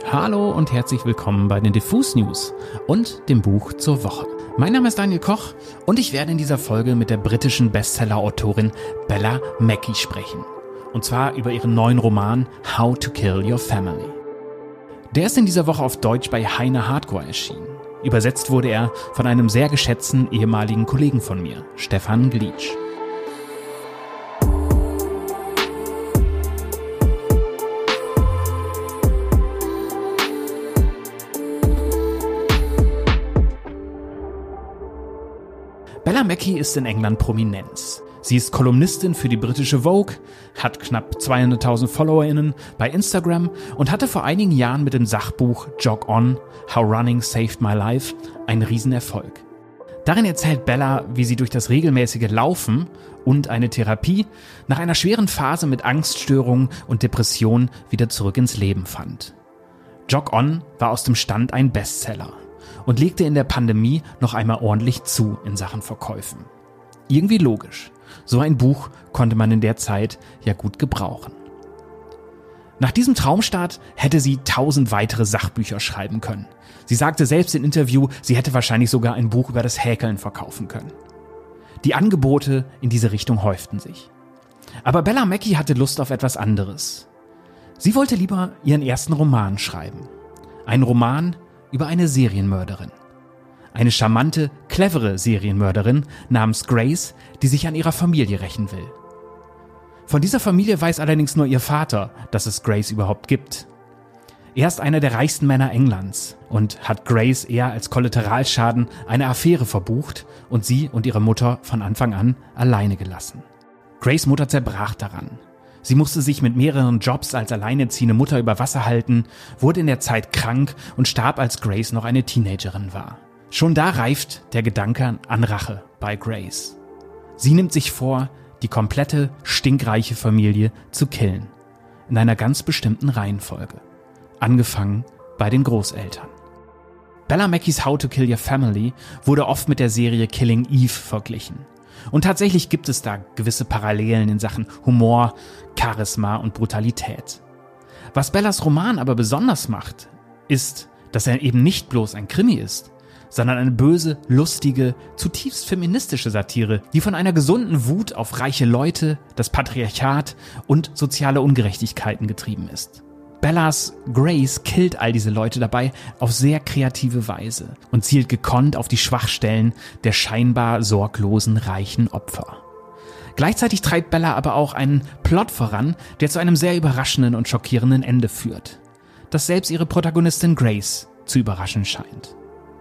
Hallo und herzlich willkommen bei den Diffus News und dem Buch zur Woche. Mein Name ist Daniel Koch und ich werde in dieser Folge mit der britischen Bestseller-Autorin Bella Mackie sprechen. Und zwar über ihren neuen Roman How to Kill Your Family. Der ist in dieser Woche auf Deutsch bei Heine Hardcore erschienen. Übersetzt wurde er von einem sehr geschätzten ehemaligen Kollegen von mir, Stefan Glitsch. Bella Mackie ist in England Prominenz. Sie ist Kolumnistin für die britische Vogue, hat knapp 200.000 FollowerInnen bei Instagram und hatte vor einigen Jahren mit dem Sachbuch Jog On, How Running Saved My Life einen Riesenerfolg. Darin erzählt Bella, wie sie durch das regelmäßige Laufen und eine Therapie nach einer schweren Phase mit Angststörungen und Depressionen wieder zurück ins Leben fand. Jog On war aus dem Stand ein Bestseller und legte in der Pandemie noch einmal ordentlich zu in Sachen Verkäufen. Irgendwie logisch. So ein Buch konnte man in der Zeit ja gut gebrauchen. Nach diesem Traumstart hätte sie 1000 weitere Sachbücher schreiben können. Sie sagte selbst im Interview, sie hätte wahrscheinlich sogar ein Buch über das Häkeln verkaufen können. Die Angebote in diese Richtung häuften sich. Aber Bella Mackie hatte Lust auf etwas anderes. Sie wollte lieber ihren ersten Roman schreiben. Ein Roman über eine Serienmörderin. Eine charmante, clevere Serienmörderin namens Grace, die sich an ihrer Familie rächen will. Von dieser Familie weiß allerdings nur ihr Vater, dass es Grace überhaupt gibt. Er ist einer der reichsten Männer Englands und hat Grace eher als Kollateralschaden eine Affäre verbucht und sie und ihre Mutter von Anfang an alleine gelassen. Grace' Mutter zerbrach daran. Sie musste sich mit mehreren Jobs als alleinerziehende Mutter über Wasser halten, wurde in der Zeit krank und starb, als Grace noch eine Teenagerin war. Schon da reift der Gedanke an Rache bei Grace. Sie nimmt sich vor, die komplette, stinkreiche Familie zu killen. In einer ganz bestimmten Reihenfolge. Angefangen bei den Großeltern. Bella Mackies How to Kill Your Family wurde oft mit der Serie Killing Eve verglichen. Und tatsächlich gibt es da gewisse Parallelen in Sachen Humor, Charisma und Brutalität. Was Bellas Roman aber besonders macht, ist, dass er eben nicht bloß ein Krimi ist, sondern eine böse, lustige, zutiefst feministische Satire, die von einer gesunden Wut auf reiche Leute, das Patriarchat und soziale Ungerechtigkeiten getrieben ist. Bellas Grace killt all diese Leute dabei auf sehr kreative Weise und zielt gekonnt auf die Schwachstellen der scheinbar sorglosen, reichen Opfer. Gleichzeitig treibt Bella aber auch einen Plot voran, der zu einem sehr überraschenden und schockierenden Ende führt, das selbst ihre Protagonistin Grace zu überraschen scheint.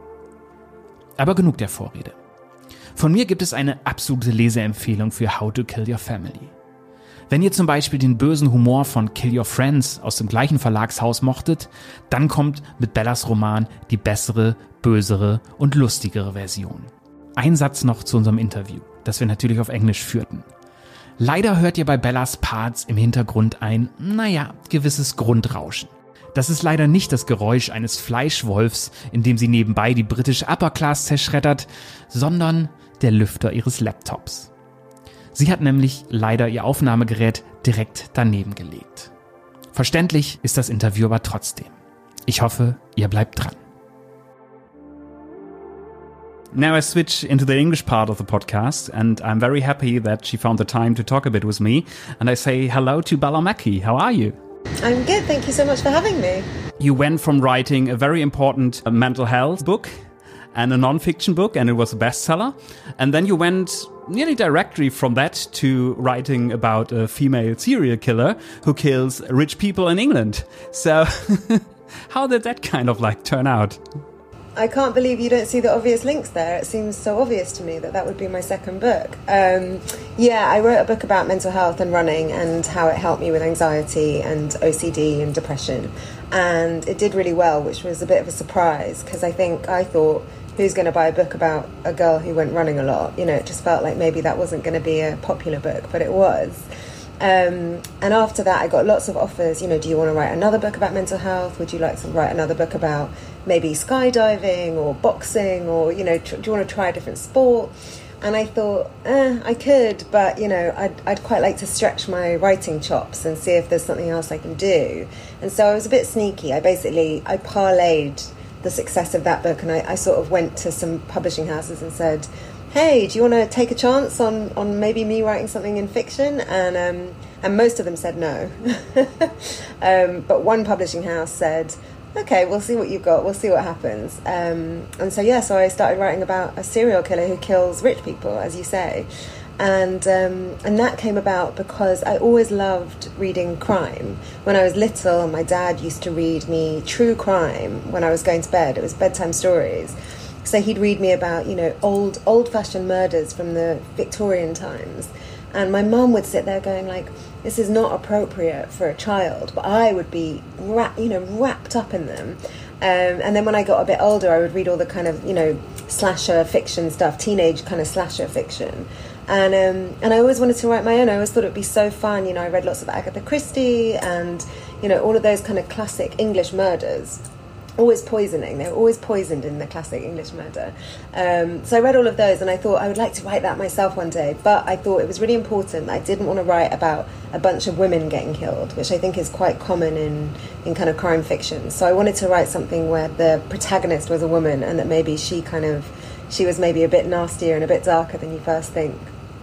Aber genug der Vorrede. Von mir gibt es eine absolute Leseempfehlung für How to Kill Your Family. Wenn ihr zum Beispiel den bösen Humor von Kill Your Friends aus dem gleichen Verlagshaus mochtet, dann kommt mit Bellas Roman die bessere, bösere und lustigere Version. Ein Satz noch zu unserem Interview, das wir natürlich auf Englisch führten. Leider hört ihr bei Bellas Parts im Hintergrund ein, gewisses Grundrauschen. Das ist leider nicht das Geräusch eines Fleischwolfs, in dem sie nebenbei die britische Upper Class zerschreddert, sondern der Lüfter ihres Laptops. Sie hat nämlich leider ihr Aufnahmegerät direkt daneben gelegt. Verständlich ist das Interview aber trotzdem. Ich hoffe, ihr bleibt dran. Now I switch into the English part of the podcast, and I'm very happy that she found the time to talk a bit with me. And I say hello to Bella Mackie. How are you? I'm good, thank you so much for having me. You went from writing a very important mental health book and a non-fiction book, and it was a bestseller. And then you went nearly directly from that to writing about a female serial killer who kills rich people in England. So how did that kind of turn out? I can't believe you don't see the obvious links there. It seems so obvious to me that would be my second book. I wrote a book about mental health and running and how it helped me with anxiety and OCD and depression. And it did really well, which was a bit of a surprise because I thought, who's going to buy a book about a girl who went running a lot? You know, it just felt like maybe that wasn't going to be a popular book, but it was. And after that, I got lots of offers, do you want to write another book about mental health? Would you like to write another book about maybe skydiving or boxing or, do you want to try a different sport? And I thought, I could, but, you know, I'd quite like to stretch my writing chops and see if there's something else I can do. And so I was a bit sneaky. I parlayed the success of that book, and I sort of went to some publishing houses and said, hey, do you want to take a chance on maybe me writing something in fiction? And most of them said no. But one publishing house said, okay, we'll see what you've got, we'll see what happens. And so I started writing about a serial killer who kills rich people, as you say. And that came about because I always loved reading crime. When I was little, my dad used to read me true crime when I was going to bed. It was bedtime stories. So he'd read me about, you know, old-fashioned murders from the Victorian times. And my mum would sit there going like, this is not appropriate for a child, but I would be wrapped up in them. And then when I got a bit older, I would read all the kind of, you know, slasher fiction stuff, teenage kind of slasher fiction. And I always wanted to write my own. I always thought it would be so fun. You know, I read lots of Agatha Christie and, you know, all of those kind of classic English murders. Always poisoning. They were always poisoned in the classic English murder. So I read all of those and I thought I would like to write that myself one day. But I thought it was really important that I didn't want to write about a bunch of women getting killed, which I think is quite common in kind of crime fiction. So I wanted to write something where the protagonist was a woman and that maybe she was maybe a bit nastier and a bit darker than you first think.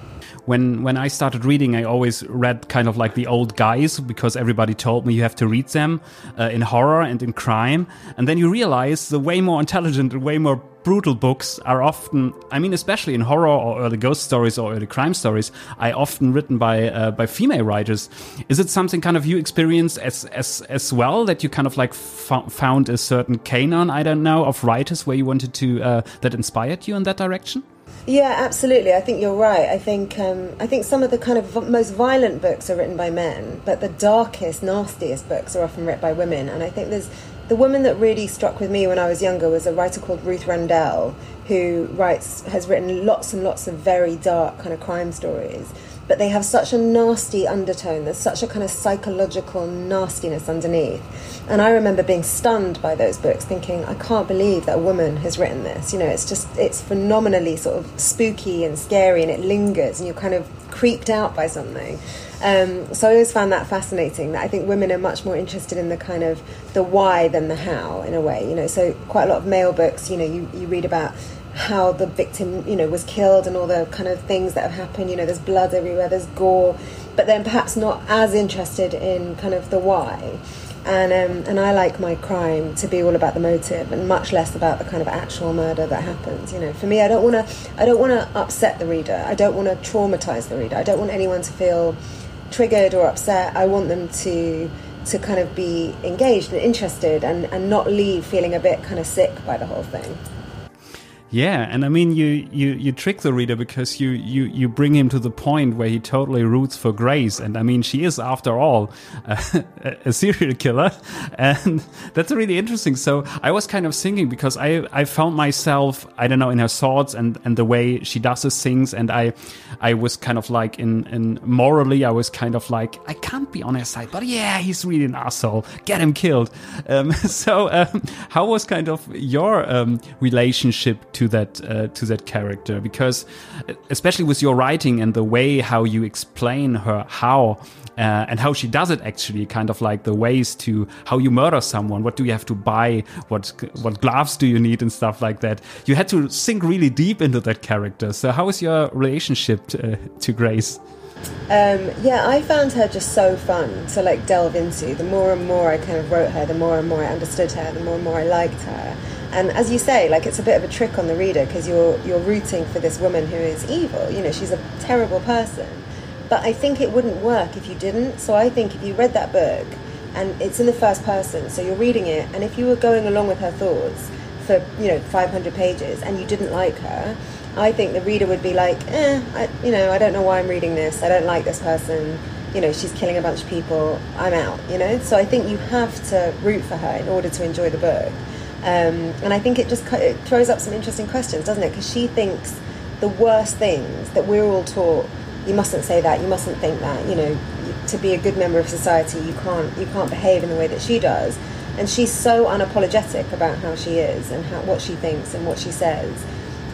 When I started reading, I always read kind of like the old guys because everybody told me you have to read them in horror and in crime. And then you realize the way more intelligent and way more brutal books are often, I mean, especially in horror or early ghost stories or early crime stories, are often written by female writers. Is it something kind of you experienced as well, that you kind of like found a certain canon, I don't know, of writers where you wanted to, that inspired you in that direction? Yeah, absolutely. I think you're right. I think some of the kind of most violent books are written by men, but the darkest, nastiest books are often written by women. And I think the woman that really struck with me when I was younger was a writer called Ruth Rendell, who has written lots and lots of very dark kind of crime stories. But they have such a nasty undertone. There's such a kind of psychological nastiness underneath. And I remember being stunned by those books, thinking, I can't believe that a woman has written this. You know, it's phenomenally sort of spooky and scary, and it lingers, and you're kind of creeped out by something. So I always found that fascinating, that I think women are much more interested in the kind of the why than the how, in a way. You know, so quite a lot of male books, you know, you read about how the victim, you know, was killed and all the kind of things that have happened. You know, there's blood everywhere, there's gore, but then perhaps not as interested in kind of the why. And I like my crime to be all about the motive and much less about the kind of actual murder that happens. You know, for me, I don't want to upset the reader. I don't want to traumatize the reader. I don't want anyone to feel triggered or upset. I want them to kind of be engaged and interested and not leave feeling a bit kind of sick by the whole thing. Yeah, and I mean, you trick the reader because you bring him to the point where he totally roots for Grace, and I mean, she is, after all, a serial killer, and that's really interesting. So I was kind of thinking, because I found myself, I don't know, in her thoughts and the way she does these things, and I was kind of like, in morally, I was kind of like, I can't be on her side, but yeah, he's really an asshole, get him killed. So how was kind of your relationship to that character? Because especially with your writing and the way how you explain her and how she does it, actually, kind of like the ways to how you murder someone, what do you have to buy, what gloves do you need and stuff like that. You had to sink really deep into that character. So how is your relationship to Grace? Yeah, I found her just so fun to like delve into. The more and more I kind of wrote her, the more and more I understood her, the more and more I liked her. And as you say, like, it's a bit of a trick on the reader because you're rooting for this woman who is evil. You know, she's a terrible person. But I think it wouldn't work if you didn't. So I think if you read that book, and it's in the first person, so you're reading it, and if you were going along with her thoughts for, 500 pages and you didn't like her, I think the reader would be like, I don't know why I'm reading this. I don't like this person. You know, she's killing a bunch of people. I'm out, So I think you have to root for her in order to enjoy the book. And I think it throws up some interesting questions, doesn't it? Because she thinks the worst things that we're all taught. You mustn't say that. You mustn't think that. To be a good member of society, you can't behave in the way that she does. And she's so unapologetic about how she is and what she thinks and what she says.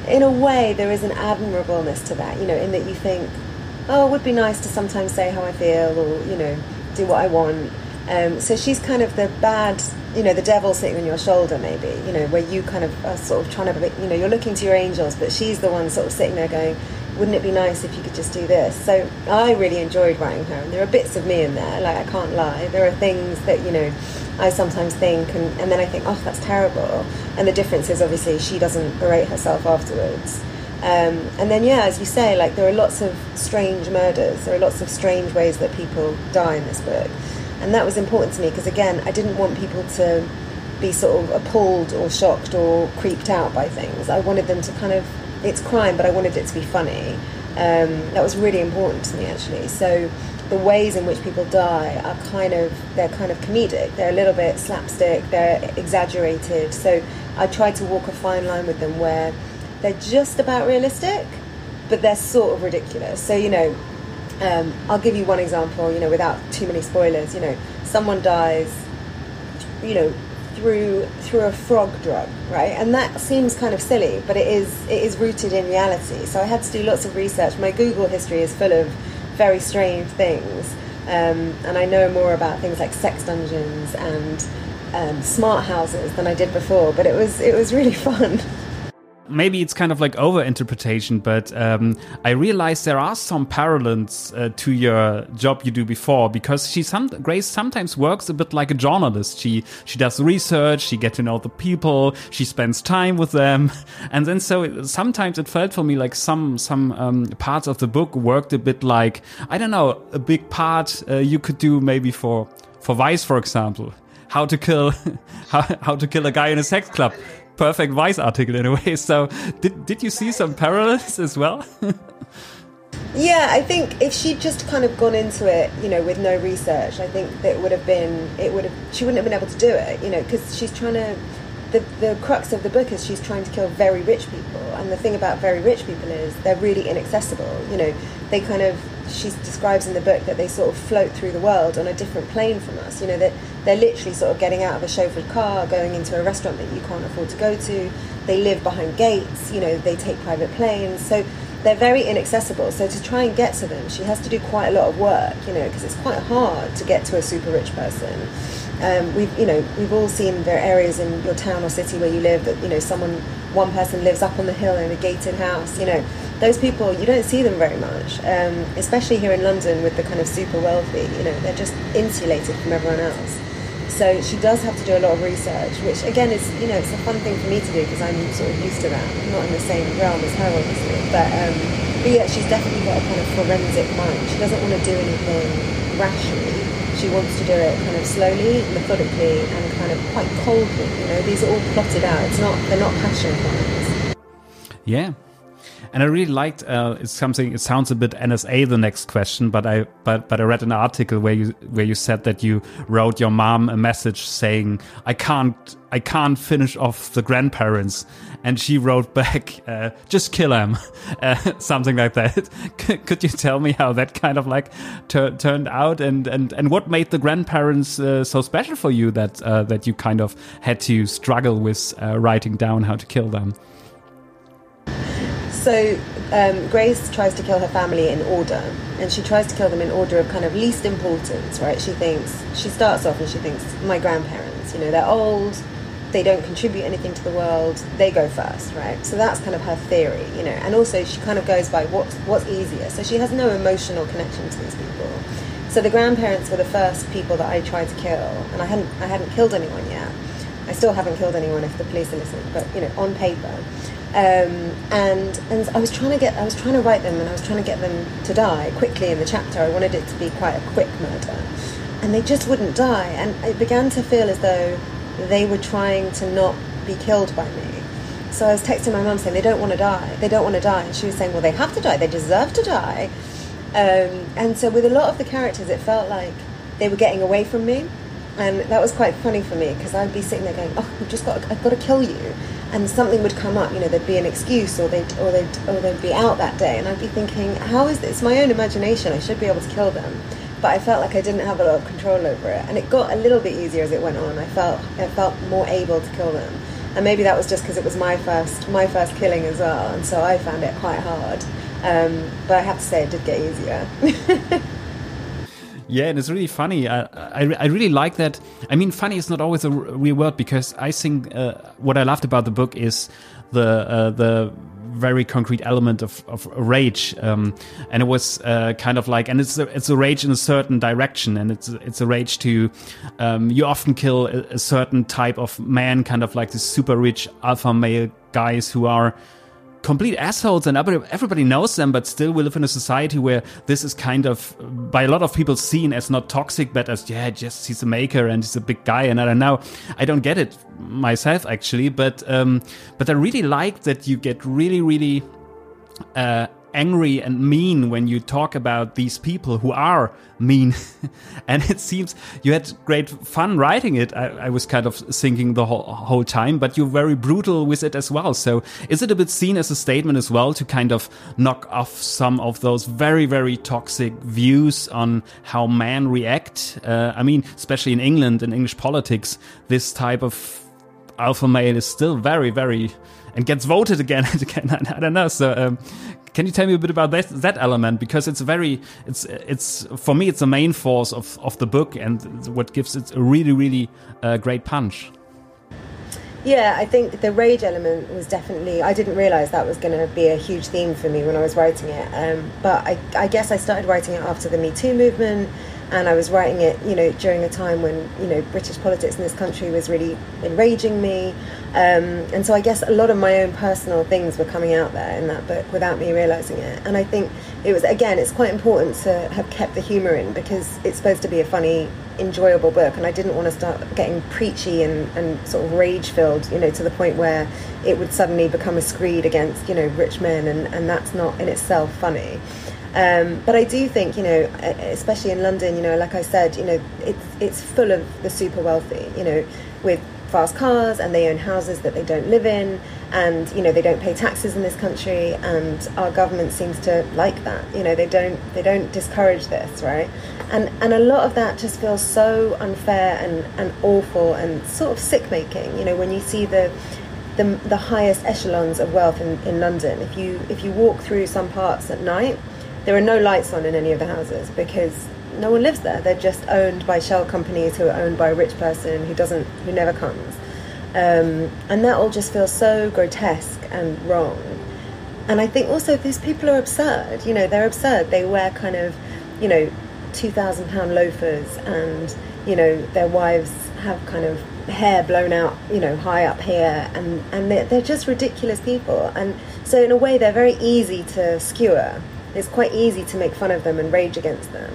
in a way, there is an admirableness to that, you know, in that you think, oh, it would be nice to sometimes say how I feel, or, you know, do what I want. So she's kind of the bad, you know, the devil sitting on your shoulder, maybe, you know, where you kind of are sort of trying to, you know, you're looking to your angels, but she's the one sort of sitting there going, wouldn't it be nice if you could just do this? So I really enjoyed writing her, and there are bits of me in there, like, I can't lie. There are things that, you know, I sometimes think, and then I think, oh, that's terrible. And the difference is, obviously, she doesn't berate herself afterwards. And then, yeah, as you say, like, there are lots of strange murders. There are lots of strange ways that people die in this book. And that was important to me because, again, I didn't want people to be sort of appalled or shocked or creeped out by things. I wanted them to kind of, it's crime, but I wanted it to be funny. That was really important to me, actually. So the ways in which people die are they're kind of comedic. They're a little bit slapstick, they're exaggerated. So I tried to walk a fine line with them where they're just about realistic, but they're sort of ridiculous. So, you know, I'll give you one example, you know, without too many spoilers. You know, someone dies, you know, through a frog drug, right? And that seems kind of silly, but it is rooted in reality. So I had to do lots of research. My Google history is full of very strange things, and I know more about things like sex dungeons and smart houses than I did before. But it was really fun. Maybe it's kind of like over-interpretation, but I realized there are some parallels to your job you do before, because Grace sometimes works a bit like a journalist. She does research, she gets to know the people, she spends time with them, and then sometimes it felt for me like some parts of the book worked a bit like, I don't know, a big part you could do maybe for Vice, for example, how to kill a guy in a sex club. Perfect Vice article in a way. So did you see some parallels as well? Yeah, I think if she'd just kind of gone into it, you know, with no research, I think that she wouldn't have been able to do it, you know, because she's trying to, the crux of the book is she's trying to kill very rich people. And the thing about very rich people is they're really inaccessible. You know, they kind of, she describes in the book that they sort of float through the world on a different plane from us. You know, that they're literally sort of getting out of a chauffeured car, going into a restaurant that you can't afford to go to. They live behind gates, you know, they take private planes. So they're very inaccessible. So to try and get to them, she has to do quite a lot of work, you know, because it's quite hard to get to a super rich person. We've all seen there are areas in your town or city where you live that, you know, one person lives up on the hill in a gated house. You know, those people, you don't see them very much, especially here in London with the kind of super wealthy. You know, they're just insulated from everyone else. So she does have to do a lot of research, which again is, you know, it's a fun thing for me to do because I'm sort of used to that. I'm not in the same realm as her, obviously, but yeah, she's definitely got a kind of forensic mind. She doesn't want to do anything rashly. She wants to do it kind of slowly, methodically, and kind of quite coldly. You know, these are all plotted out. They're not passion crimes. Yeah. And I really liked it sounds a bit NSA, the next question, but I read an article where you said that you wrote your mom a message saying, I can't finish off the grandparents, and she wrote back, just kill them, something like that. Could you tell me how that kind of like turned out, and what made the grandparents so special for you that you kind of had to struggle with writing down how to kill them? So Grace tries to kill her family in order, and she tries to kill them in order of kind of least importance, right? She starts off and she thinks, my grandparents, you know, they're old, they don't contribute anything to the world, they go first, right? So that's kind of her theory, you know, and also she kind of goes by what's easier. So she has no emotional connection to these people. So the grandparents were the first people that I tried to kill, and I hadn't killed anyone yet. I still haven't killed anyone if the police are listening, but, you know, on paper. And I was trying to write them, and I was trying to get them to die quickly in the chapter. I wanted it to be quite a quick murder, and they just wouldn't die. And it began to feel as though they were trying to not be killed by me. So I was texting my mum saying, they don't want to die. They don't want to die. And she was saying, well, they have to die. They deserve to die. And so with a lot of the characters, it felt like they were getting away from me. And that was quite funny for me, because I'd be sitting there going, oh, I've got to kill you. And something would come up, you know, there'd be an excuse, or they'd be out that day, and I'd be thinking, how is this? It's my own imagination. I should be able to kill them, but I felt like I didn't have a lot of control over it. And it got a little bit easier as it went on. I felt more able to kill them. and maybe that was just because it was my first killing as well, and so I found it quite hard. But I have to say, it did get easier. Yeah, and it's really funny. I really like that. I mean, funny is not always a real word, because I think what I loved about the book is the very concrete element of rage, and it was kind of like, and it's a rage in a certain direction, and it's a rage to you often kill a certain type of man, kind of like the super rich alpha male guys who are complete assholes, and everybody knows them, but still we live in a society where this is kind of by a lot of people seen as not toxic, but as just he's a maker and he's a big guy. And I don't know, I don't get it myself actually, but I really like that you get really angry and mean when you talk about these people who are mean. And it seems you had great fun writing it. I was kind of thinking the whole time, but you're very brutal with it as well. So is it a bit seen as a statement as well to kind of knock off some of those very, very toxic views on how men react? I mean, especially in England, in English politics, this type of alpha male is still very, very, and gets voted again and again. I don't know. So can you tell me a bit about that element? Because it's for me, it's the main force of the book, and what gives it a really, really great punch. Yeah, I think the rage element was definitely, I didn't realise that was going to be a huge theme for me when I was writing it. But I guess I started writing it after the Me Too movement, and I was writing it, during a time when, British politics in this country was really enraging me. And so I guess a lot of my own personal things were coming out there in that book without me realising it. And I think it's quite important to have kept the humour in, because it's supposed to be a funny, enjoyable book, and I didn't want to start getting preachy and sort of rage-filled, to the point where it would suddenly become a screed against, rich men, and that's not in itself funny. But I do think, especially in London, like I said, it's full of the super wealthy, with fast cars, and they own houses that they don't live in, and they don't pay taxes in this country, and our government seems to like that. They don't discourage this, right? And a lot of that just feels so unfair and awful and sort of sick-making. When you see the highest echelons of wealth in London, if you walk through some parts at night, there are no lights on in any of the houses, because no one lives there. They're just owned by shell companies who are owned by a rich person who never comes. And that all just feels so grotesque and wrong. And I think also these people are absurd. They're absurd. They wear kind of, £2,000 loafers, and, their wives have kind of hair blown out, high up here, and they're just ridiculous people. And so in a way, they're very easy to skewer. It's quite easy to make fun of them and rage against them.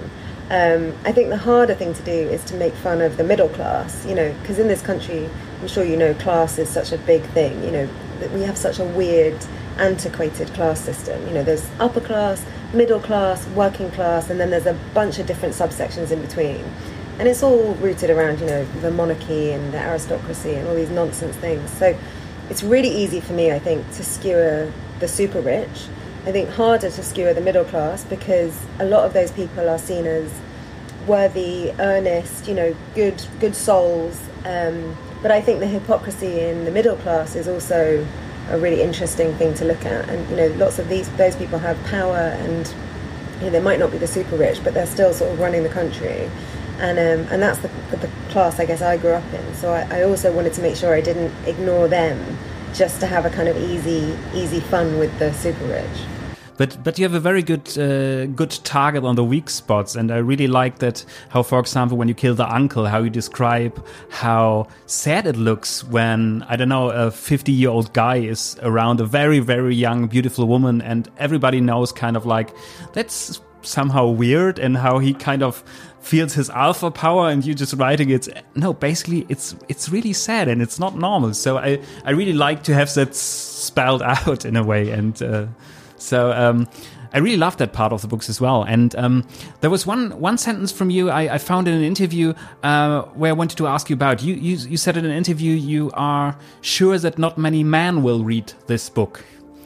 I think the harder thing to do is to make fun of the middle class, because in this country, I'm sure class is such a big thing, that we have such a weird, antiquated class system. There's upper class, middle class, working class, and then there's a bunch of different subsections in between. And it's all rooted around, the monarchy and the aristocracy and all these nonsense things. So it's really easy for me, I think, to skewer the super rich. I think harder to skewer the middle class, because a lot of those people are seen as worthy, earnest, good souls. But I think the hypocrisy in the middle class is also a really interesting thing to look at. And lots of those people have power, and they might not be the super rich, but they're still sort of running the country. And that's the class I guess I grew up in. So I also wanted to make sure I didn't ignore them just to have a kind of easy fun with the super rich. But you have a very good target on the weak spots, and I really like that. How, for example, when you kill the uncle, how you describe how sad it looks when, I don't know, a 50-year-old guy is around a very, very young, beautiful woman, and everybody knows kind of like that's somehow weird, and how he kind of feels his alpha power, and you just writing it. No, basically it's really sad, and it's not normal. So I really like to have that spelled out in a way, and. So I really loved that part of the books as well. And there was one sentence from you I found in an interview where I wanted to ask you about. You said in an interview you are sure that not many men will read this book.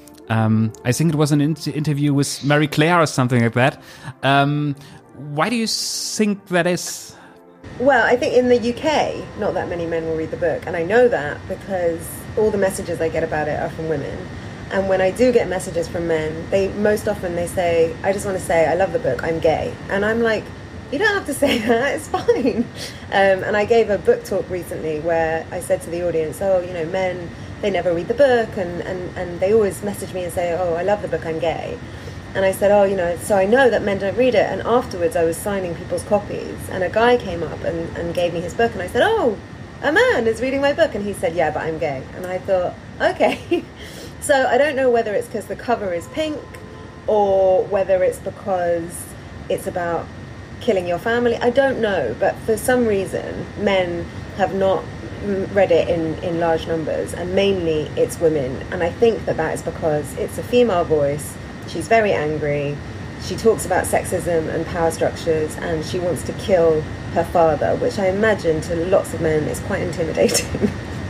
I think it was an interview with Mary Claire or something like that. Why do you think that is? Well, I think in the UK, not that many men will read the book. And I know that because all the messages I get about it are from women. And when I do get messages from men, most often they say, I just want to say, I love the book, I'm gay. And I'm like, you don't have to say that, it's fine. And I gave a book talk recently where I said to the audience, men, they never read the book, and they always message me and say, oh, I love the book, I'm gay. And I said, so I know that men don't read it. And afterwards I was signing people's copies, and a guy came up and gave me his book, and I said, oh, a man is reading my book. And he said, yeah, but I'm gay. And I thought, okay. So I don't know whether it's because the cover is pink, or whether it's because it's about killing your family. I don't know, but for some reason men have not read it in large numbers, and mainly it's women. And I think that is because it's a female voice. She's very angry. She talks about sexism and power structures, and she wants to kill her father, which I imagine to lots of men is quite intimidating.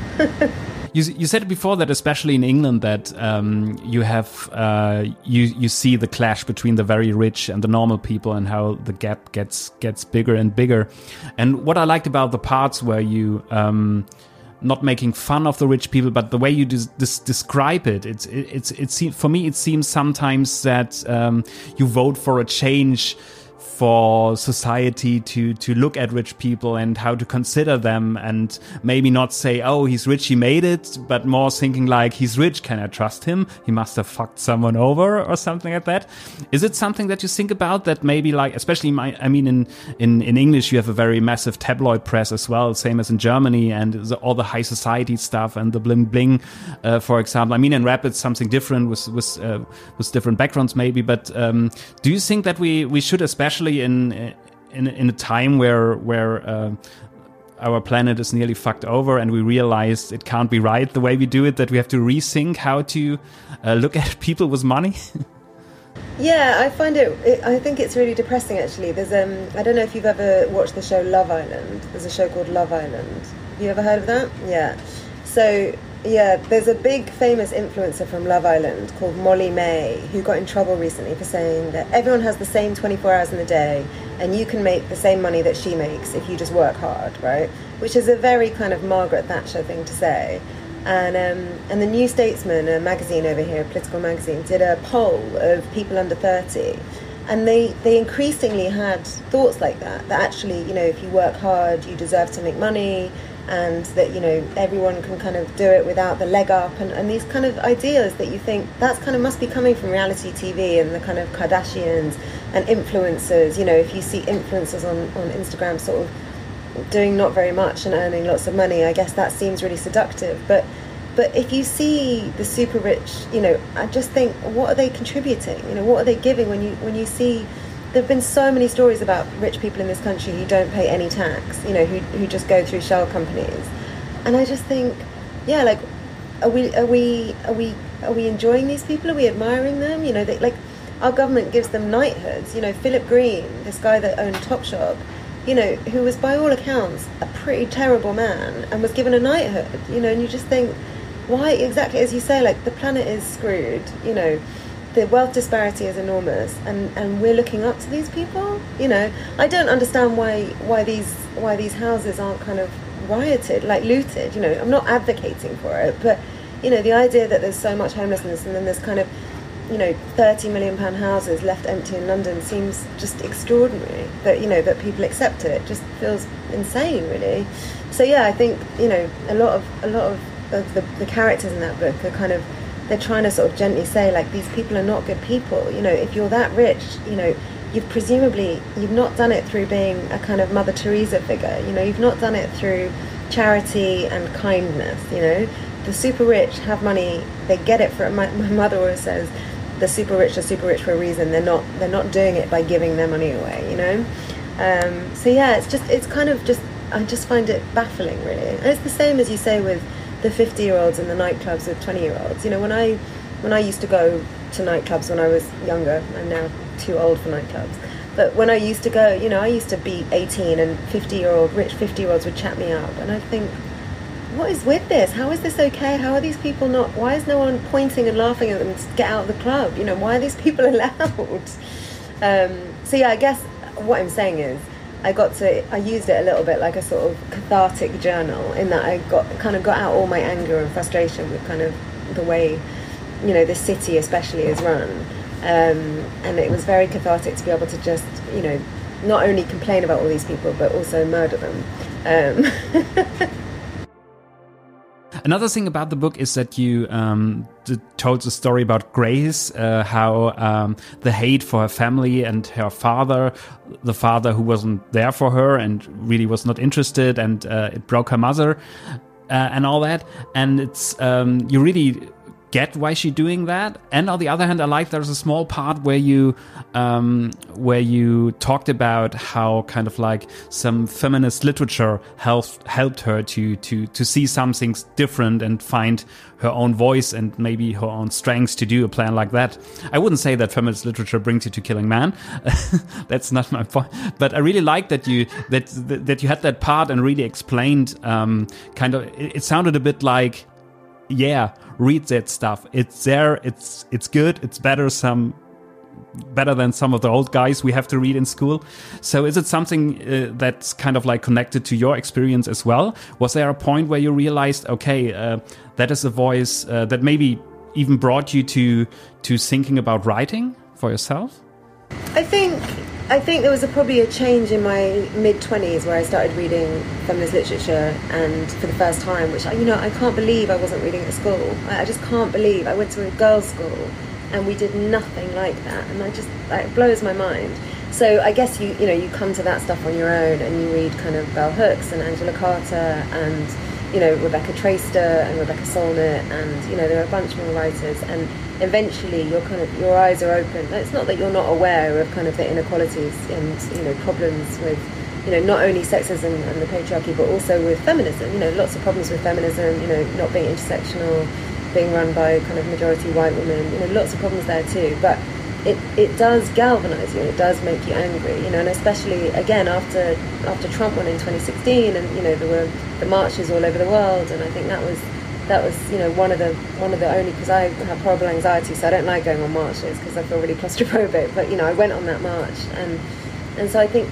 You said before that, especially in England, that you have you see the clash between the very rich and the normal people, and how the gap gets bigger and bigger. And what I liked about the parts where you not making fun of the rich people, but the way you describe it, for me it seems sometimes that you vote for a change for society to look at rich people and how to consider them, and maybe not say, oh, he's rich, he made it, but more thinking like, he's rich, can I trust him? He must have fucked someone over or something like that. Is it something that you think about, that maybe, like, especially in English you have a very massive tabloid press as well, same as in Germany, and all the high society stuff and the bling bling, for example. I mean, in rap it's something different with different backgrounds maybe, but do you think that we should, especially in a time where our planet is nearly fucked over and we realize it can't be right the way we do it, that we have to rethink how to look at people with money? Yeah, I think it's really depressing, actually. There's I don't know if you've ever watched the show Love Island. There's a show called Love Island. Have you ever heard of that? Yeah. So yeah, there's a big famous influencer from Love Island called Molly May, who got in trouble recently for saying that everyone has the same 24 hours in a day and you can make the same money that she makes if you just work hard, right? Which is a very kind of Margaret Thatcher thing to say. And the New Statesman, a magazine over here, a political magazine, did a poll of people under 30, and they increasingly had thoughts like that actually, if you work hard, you deserve to make money, and that, everyone can kind of do it without the leg up, and these kind of ideas that you think that's kind of must be coming from reality TV and the kind of Kardashians and influencers. If you see influencers on Instagram sort of doing not very much and earning lots of money, I guess that seems really seductive. But if you see the super rich, I just think, what are they contributing? What are they giving when you see? There have been so many stories about rich people in this country who don't pay any tax, who just go through shell companies, and I just think, yeah, like, are we enjoying these people? Are we admiring them? Our government gives them knighthoods. Philip Green, this guy that owned Topshop, who was by all accounts a pretty terrible man, and was given a knighthood. And you just think, why exactly, as you say, like, the planet is screwed. The wealth disparity is enormous, and we're looking up to these people. I don't understand why these houses aren't kind of rioted, like looted. I'm not advocating for it, but the idea that there's so much homelessness and then there's kind of £30 million houses left empty in London seems just extraordinary. That people accept it just feels insane, really. So yeah, I think a lot of the characters in that book are kind of, they're trying to sort of gently say, like, these people are not good people. If you're that rich, you've not done it through being a kind of Mother Teresa figure. You've not done it through charity and kindness. The super rich have money, they get it for, my mother always says, the super rich are super rich for a reason. They're not doing it by giving their money away. So yeah, it's kind of just, I just find it baffling, really. And it's the same, as you say, with the 50-year-olds in the nightclubs with 20-year-olds. When I used to go to nightclubs when I was younger, I'm now too old for nightclubs, but when I used to go, I used to be 18 and rich 50-year-olds would chat me up, and I think, what is with this? How is this okay? How are these people not, why is no one pointing and laughing at them to get out of the club? Why are these people allowed? So yeah, I guess what I'm saying is, I used it a little bit like a sort of cathartic journal, in that I got out all my anger and frustration with kind of the way, you know, the city especially is run. And it was very cathartic to be able to just, you know, not only complain about all these people, but also murder them. Another thing about the book is that you told the story about Grace, how the hate for her family and her father, the father who wasn't there for her and really was not interested, and it broke her mother and all that. And it's you really get why she's doing that. And on the other hand, I like there's a small part where you talked about how kind of like some feminist literature helped her to see some things different and find her own voice and maybe her own strengths to do a plan like that. I wouldn't say that feminist literature brings you to Killing Man. That's not my point. But I really like that you had that part and really explained kind of. It sounded a bit like, yeah, read that stuff. It's there. It's good. It's better than some of the old guys we have to read in school. So is it something that's kind of like connected to your experience as well? Was there a point where you realized, okay, that is a voice that maybe even brought you to thinking about writing for yourself? I think there was probably a change in my mid-20s where I started reading feminist literature, and for the first time, which I can't believe I wasn't reading at school. I just can't believe. I went to a girls' school and we did nothing like that, and it blows my mind. So I guess you come to that stuff on your own, and you read kind of Bell Hooks and Angela Carter and, you know, Rebecca Traister and Rebecca Solnit, and, you know, there are a bunch more writers, and eventually your eyes are open. It's not that you're not aware of kind of the inequalities and, you know, problems with, you know, not only sexism and the patriarchy, but also with feminism. You know, lots of problems with feminism, you know, not being intersectional, being run by kind of majority white women, you know, lots of problems there too. But it does galvanise you, and it does make you angry, you know, and especially again after Trump won in 2016, and, you know, there were the marches all over the world, and I think that was you know one of the only, because I have horrible anxiety, so I don't like going on marches because I feel really claustrophobic. But, you know, I went on that march, and so I think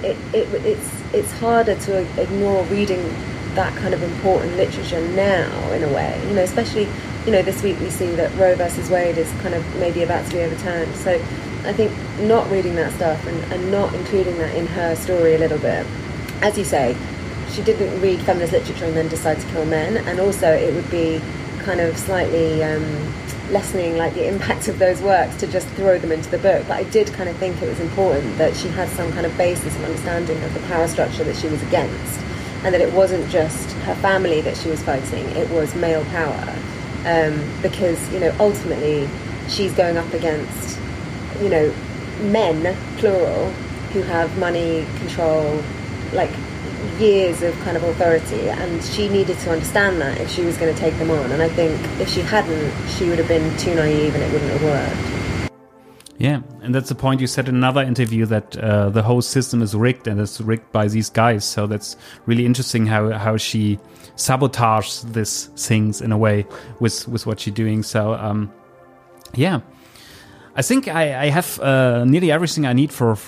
it's harder to ignore reading that kind of important literature now, in a way, you know, especially, you know, this week we see that Roe versus Wade is kind of maybe about to be overturned. So I think not reading that stuff and not including that in her story a little bit, as you say, she didn't read feminist literature and then decide to kill men, and also it would be kind of slightly lessening like the impact of those works to just throw them into the book. But I did kind of think it was important that she had some kind of basis and understanding of the power structure that she was against, and that it wasn't just her family that she was fighting, it was male power. Because, you know, ultimately she's going up against, you know, men, plural, who have money, control, like years of kind of authority, and she needed to understand that if she was going to take them on. And I think if she hadn't, she would have been too naive and it wouldn't have worked. Yeah, and that's the point you said in another interview, that the whole system is rigged, and it's rigged by these guys. So that's really interesting how she sabotages these things in a way with what she's doing. So yeah, I think I have nearly everything I need for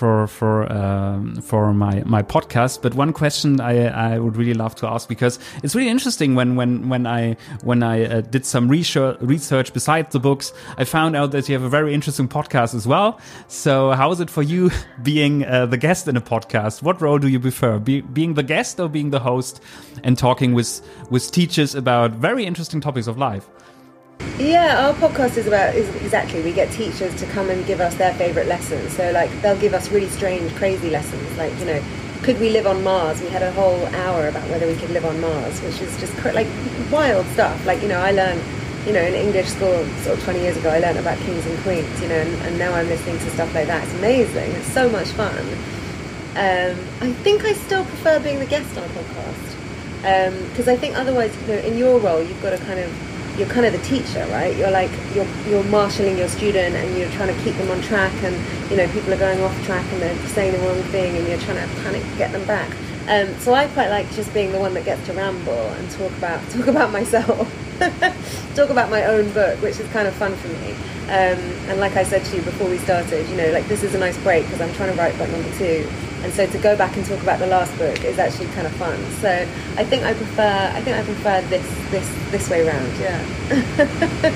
my podcast. But one question I would really love to ask, because it's really interesting when I did some research besides the books, I found out that you have a very interesting podcast as well. So how is it for you being the guest in a podcast? What role do you prefer, being the guest or being the host, and talking with teachers about very interesting topics of life? Yeah, our podcast is exactly, we get teachers to come and give us their favourite lessons. So, like, they'll give us really strange, crazy lessons. Like, you know, could we live on Mars? We had a whole hour about whether we could live on Mars, which is just like wild stuff. Like, you know, I learned, you know, in English school sort of 20 years ago, I learned about kings and queens, you know, and now I'm listening to stuff like that. It's amazing. It's so much fun. I think I still prefer being the guest on a podcast, because I think otherwise, you know, in your role, you've got to you're kind of the teacher, right? You're like, you're marshalling your student, and you're trying to keep them on track, and, you know, people are going off track and they're saying the wrong thing, and you're trying to panic to get them back. So I quite like just being the one that gets to ramble and talk about myself, talk about my own book, which is kind of fun for me. And like I said to you before we started, you know, like, this is a nice break because I'm trying to write book number 2. And so to go back and talk about the last book is actually kind of fun. So I think I prefer this way round. Yeah.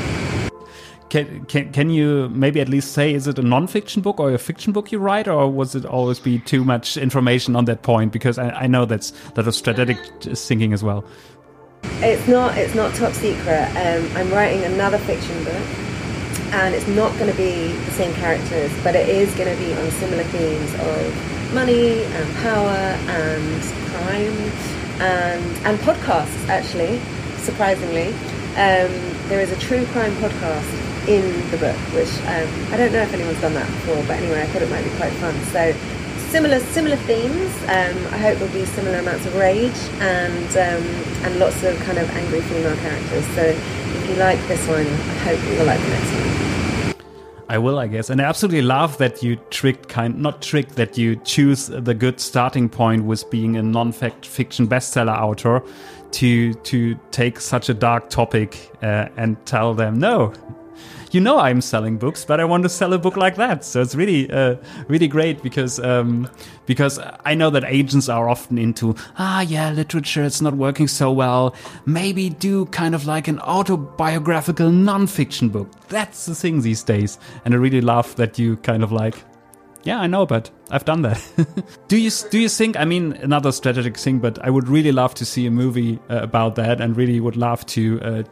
Can you maybe at least say, is it a non-fiction book or a fiction book you write, or was it always be too much information on that point? Because I know that was strategic thinking as well. It's not top secret. I'm writing another fiction book, and it's not going to be the same characters, but it is going to be on similar themes of money and power and crime and podcasts, actually, surprisingly. There is a true crime podcast in the book, which I don't know if anyone's done that before, but anyway, I thought it might be quite fun. So similar themes. I hope there'll be similar amounts of rage and lots of kind of angry female characters. So if you like this one, I hope you will like the next one. I will, I guess. And I absolutely love that you that you choose the good starting point with being a non-fiction bestseller author to take such a dark topic and tell them, no, you know I'm selling books, but I want to sell a book like that. So it's really, really great because I know that agents are often into, literature, it's not working so well. Maybe do kind of like an autobiographical non-fiction book. That's the thing these days. And I really love that you kind of like, yeah, I know, but I've done that. Do you think, I mean, another strategic thing, but I would really love to see a movie about that, and really would love to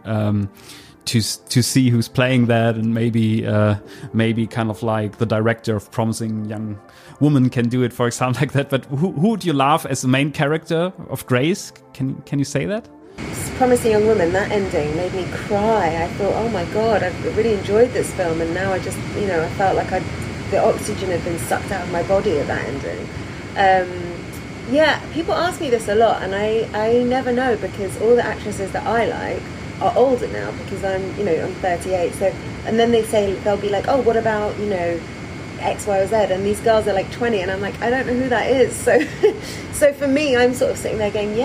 see who's playing that, and maybe kind of like the director of Promising Young Woman can do it, for example, like that. But who would you love as the main character of Grace? Can you say that? Promising Young Woman, that ending made me cry. I thought, oh my God, I really enjoyed this film, and now I just, I felt like the oxygen had been sucked out of my body at that ending. People ask me this a lot, and I never know, because all the actresses that I like are older now, because I'm 38. So, and then they'll be like, oh, what about, X, Y, or Z? And these girls are like 20, and I'm like, I don't know who that is. So for me, I'm sort of sitting there going,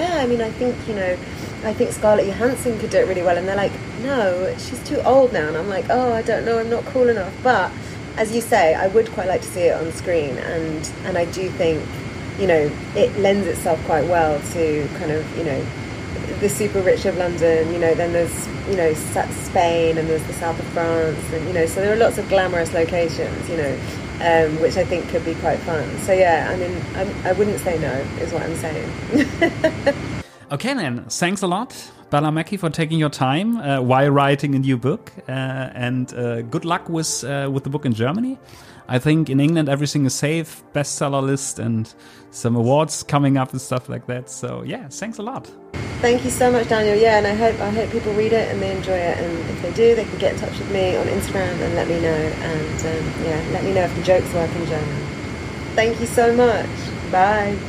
I think Scarlett Johansson could do it really well. And they're like, no, she's too old now. And I'm like, oh, I don't know, I'm not cool enough. But as you say, I would quite like to see it on screen, and I do think, it lends itself quite well to kind of, the super rich of London, then there's, Spain, and there's the south of France, and, so there are lots of glamorous locations, which I think could be quite fun. So yeah, I mean, I wouldn't say no, is what I'm saying. Okay then, thanks a lot, Bella Mackie, for taking your time while writing a new book, and good luck with the book in Germany. I think in England everything is safe, bestseller list, and some awards coming up and stuff like that. So yeah, thanks a lot. Thank you so much, Daniel. Yeah, and I hope people read it and they enjoy it. And if they do, they can get in touch with me on Instagram and let me know. And let me know if the jokes work in German. Thank you so much. Bye.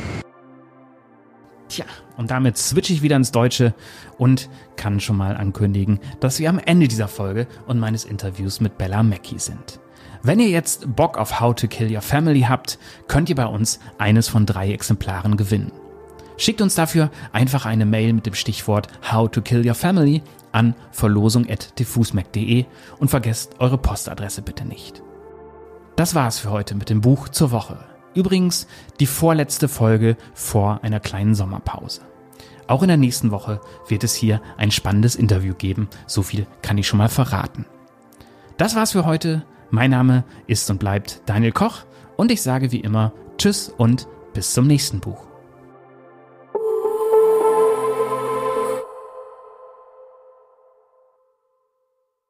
Tja, und damit switche ich wieder ins Deutsche und kann schon mal ankündigen, dass wir am Ende dieser Folge und meines Interviews mit Bella Mackie sind. Wenn ihr jetzt Bock auf How to Kill Your Family habt, könnt ihr bei uns eines von 3 Exemplaren gewinnen. Schickt uns dafür einfach eine Mail mit dem Stichwort How to Kill Your Family an verlosung@diffusmac.de und vergesst eure Postadresse bitte nicht. Das war's für heute mit dem Buch zur Woche. Übrigens die vorletzte Folge vor einer kleinen Sommerpause. Auch in der nächsten Woche wird es hier ein spannendes Interview geben, so viel kann ich schon mal verraten. Das war's für heute. Mein Name ist und bleibt Daniel Koch und ich sage wie immer Tschüss und bis zum nächsten Buch.